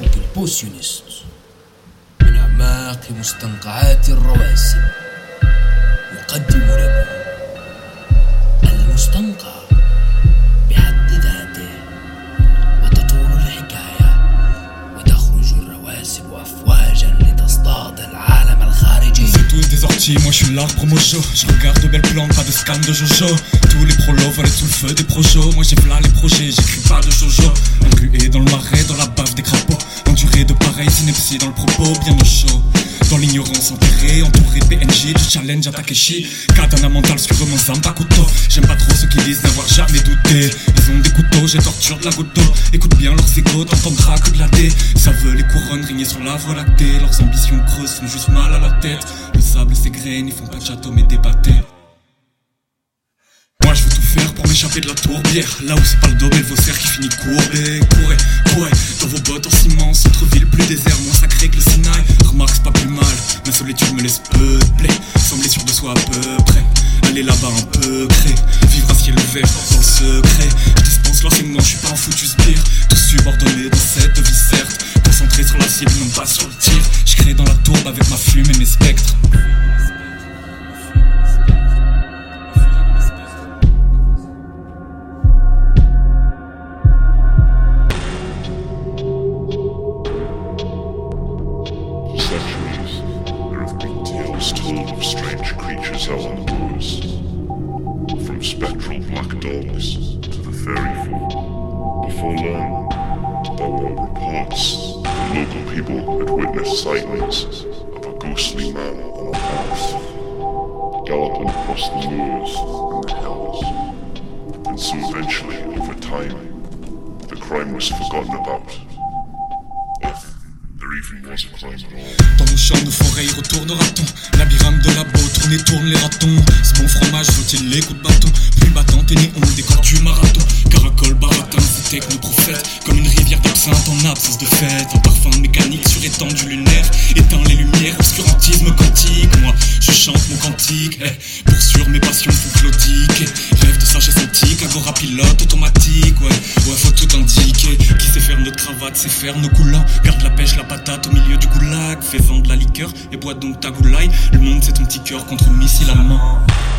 البوسيونست من أعماق مستنقعات الرواسب يقدم لكم المستنقع بحد ذاته. وتطول الحكاية وتخرج الرواسب أفواجا لتصطاد العالم الخارجي. C'est tous des orties, moi je suis l'arbre mojo. Je regarde de belles plantes, pas de scam de Jojo. Tous les prolos veulent être sous le feu des projos. Moi j'ai v'là les projets, j'écris pas de Jojo. Englué dans le marais, dans la bave des crapauds. Enduré de pareilles inepties dans le propos, bien au chaud. Dans l'ignorance enterrée, entouré PNJ, du challenge à Takeshi. Katana mental sur mon Zamba couteau. J'aime pas trop ceux qui disent n'avoir jamais douté. Ils ont des couteaux, j'ai torture de la goutte d'eau. Écoute bien leurs égos, t'entendras que de la dé. Ça veut les couronnes régner sur la voie lactée. Leurs ambitions creuses font juste mal à la tête. Le sable et ses graines, ils font pas de château mais des pâtés. Moi je veux tout faire pour m'échapper de la tourbière. Là où c'est pas le dos mais le vaussaire qui finit courbé. Courez, dans vos bottes en ciment. Centre-ville plus désert, moins sacré que le Sinaï. Remarque c'est pas plus mal, ma solitude me laisse peupler. Sembler sûr de soi à peu près. Aller là-bas un peu crée. Vivre à ciel ouvert dans le secret. Je dispense l'enseignement, je suis pas un foutu sbire. Tout subordonné dans cette vie certes. Concentré sur la cible, non pas sur le tir. Je crée dans la tourbe avec ma flume et mes spectres. Told of strange creatures out on the moors, from spectral black dogs to the fairy folk. Before long, there were reports that local people had witnessed sightings of a ghostly man on a horse, galloping across the moors and the hills. And so eventually, over time, the crime was forgotten about. Dans nos champs, nos forêts, y retournera-t-on? Labyrinthe de labo, tourne les ratons. Ce bon fromage, vaut-il les coups de bâton? Plus battant et néon, décor du marathon. Caracole, baratin, c'est technoprophète. Comme une rivière d'absinthe en absence de fête. Un parfum mécanique sur étendue lunaire. Éteint les lumières, obscurantisme quantique. Moi, je chante mon cantique. Pour sûr, mes passions font claudiquer. Rêve de sagesse antique, agora pilote automatique. Ouais, faut tout indiquer. Qui sait faire notre cravate, sait faire nos coulants. Garde la pêche, la patate au milieu du goulag. Fais-en de la liqueur et bois donc ta goulaille. Le monde c'est ton petit cœur contre missile allemand.